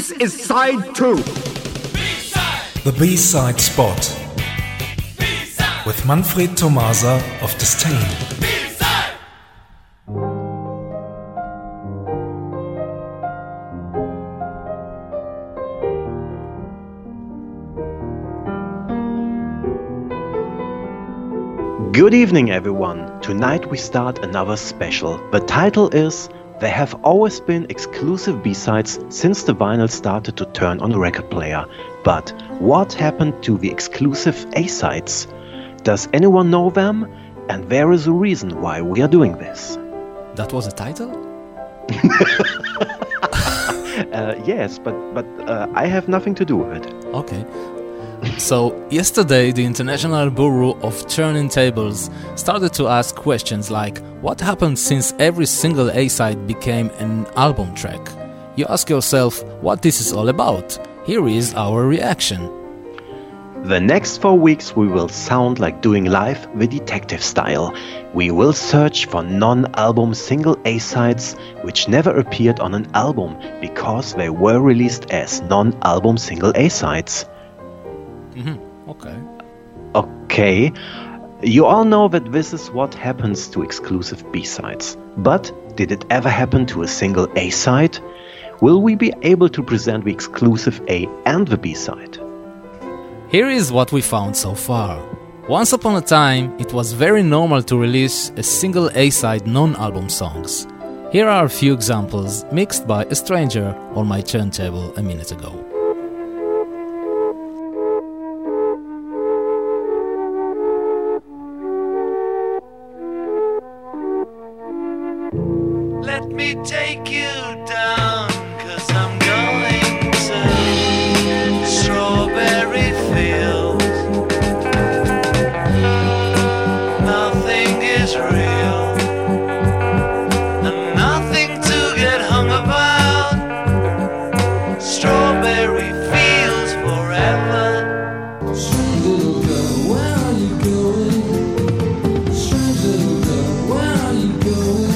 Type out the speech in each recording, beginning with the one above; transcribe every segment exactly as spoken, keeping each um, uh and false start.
This is side two. B-side. The B-side spot. B-side. With Manfred Tomasa of Disdain. B-side. Good evening, everyone. Tonight we start another special. The title is There Have Always Been Exclusive B-sides since the vinyl started to turn on a record player. But what happened to the exclusive A-sides? Does anyone know them? And there is a reason why we are doing this. That was a title? uh, yes, but, but uh, I have nothing to do with it. Okay. So, yesterday the International Bureau of Turntables started to ask questions like, what happened since every single A-side became an album track? You ask yourself what this is all about. Here is our reaction. The next four weeks we will sound like doing live the detective style. We will search for non-album single A-sides which never appeared on an album because they were released as non-album single A-sides. Mm-hmm. Okay. Okay. You all know that this is what happens to exclusive B-sides. But did it ever happen to a single A-side? Will we be able to present the exclusive A and the B-side? Here is what we found so far. Once upon a time, it was very normal to release a single A-side non-album songs. Here are a few examples mixed by a stranger on my turntable a minute ago. Let me take you down, 'cause I'm going to strawberry fields. Nothing is real, and nothing to get hung about. Strawberry fields forever. Strange little girl, where are you going? Strange little girl, where are you going?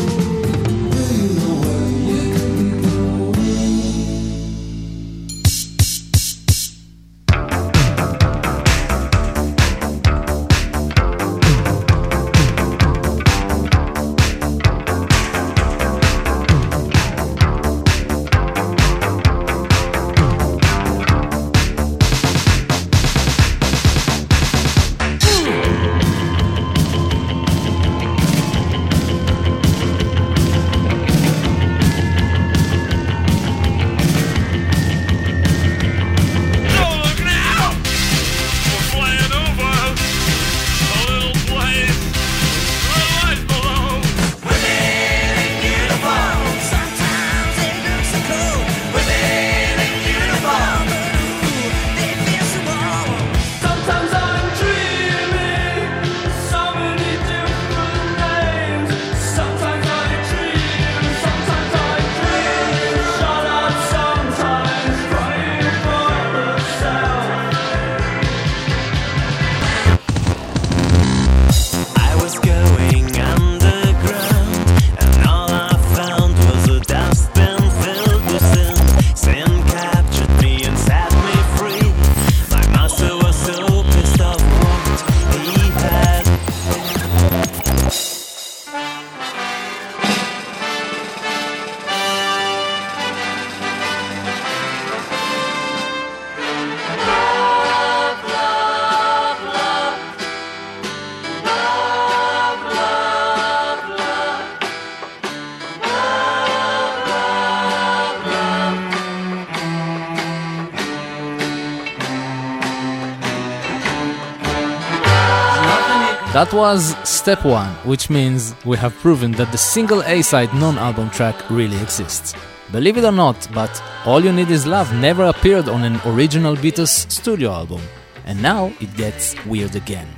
That was step one, which means we have proven that the single A-side non-album track really exists. Believe it or not, but All You Need Is Love never appeared on an original Beatles studio album. And now it gets weird again.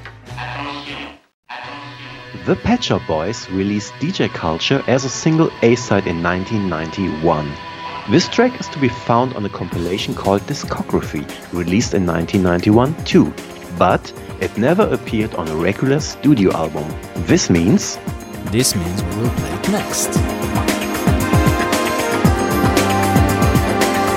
The Pet Shop Boys released D J Culture as a single A-side in nineteen ninety-one. This track is to be found on a compilation called Discography, released in nineteen ninety-one too, but it never appeared on a regular studio album. This means... This means we will play it next.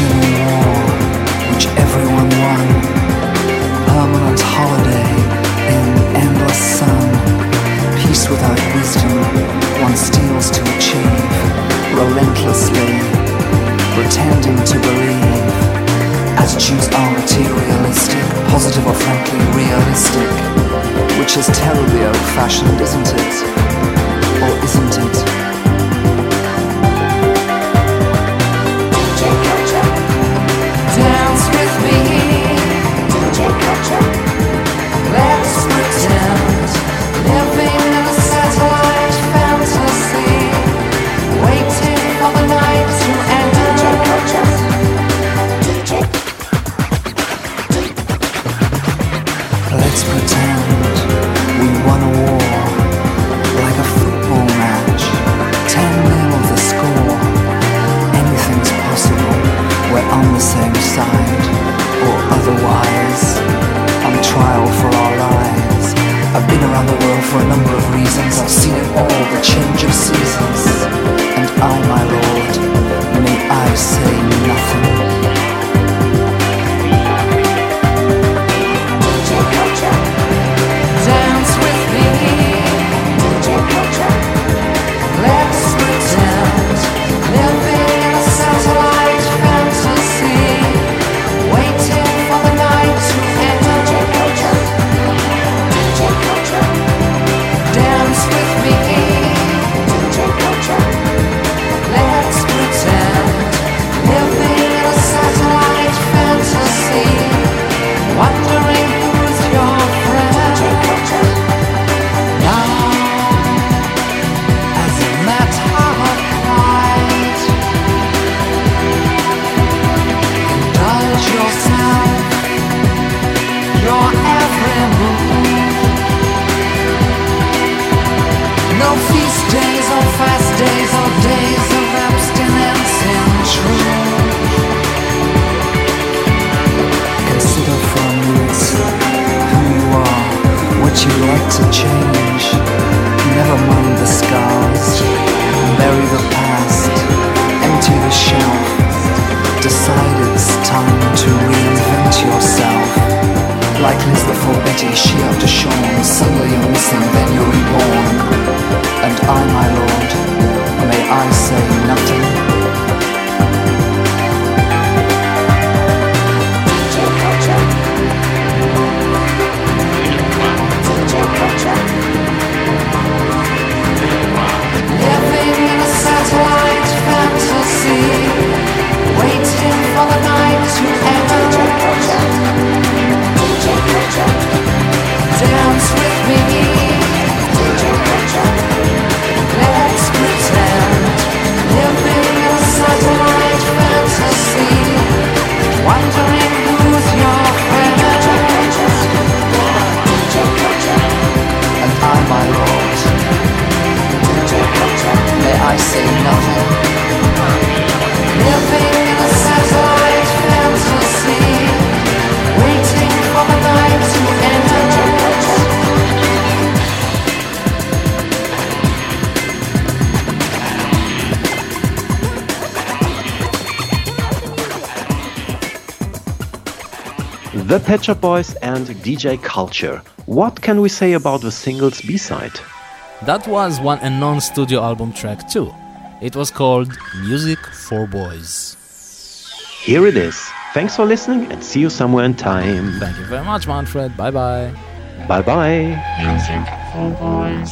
Civil war, which everyone won. Permanent holiday in endless sun. Peace without wisdom, one steals to achieve. Relentlessly, pretending to believe. As Jews are materialistic, positive or frankly realistic. Which is terribly old-fashioned, isn't it? Or isn't it? Dance with me, D J Culture. Let's pretend, living in a satellite fantasy, waiting for the night to end. D J Culture. D J. Let's pretend we won a war, like a football match, ten nil the score. Anything's possible. We're on the same side, or otherwise, on trial for our lives. I've been around the world for a number of reasons. I've seen it all, the change of seasons. And I, my lord, may I say nothing. D J Culture. Dance with me, D J Culture. Let's pretend, living in a satellite fantasy, waiting for the night to end. D J Culture. D J Culture. Dance with me, D J Culture. Let's pretend, living in a satellite fantasy, wondering who's your friend. D J Culture. Now, as a matter of pride, indulge yourself, your every move. No feast days or fast days or days of abstinence in truth. Consider for a minute who you are, what you like to change. Never mind the scars, bury the past, empty the shelf. Decide it's time to reinvent yourself. Like Liz before Betty, she after Sean. Suddenly you're missing, then you're reborn. And I, my lord, may I say nothing? D J Culture. D J Culture. Living in a satellite fantasy, waiting for the night to end. D J Culture. D J Culture. Dance with me, D J Culture. Let's pretend, living in a satellite fantasy, wondering who's your friend. D J Culture. D J Culture. And I, my lord, D J Culture. May I say nothing? Living in a satellite fantasy, waiting for the night to end. D J Culture. The Pet Shop Boys and D J Culture. What can we say about the single's B-side? That was one a non-studio album track too. It was called Music for Boys. Here it is. Thanks for listening and see you somewhere in time. Thank you very much, Manfred. Bye bye. Bye bye. Music for Boys.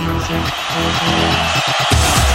Music for boys.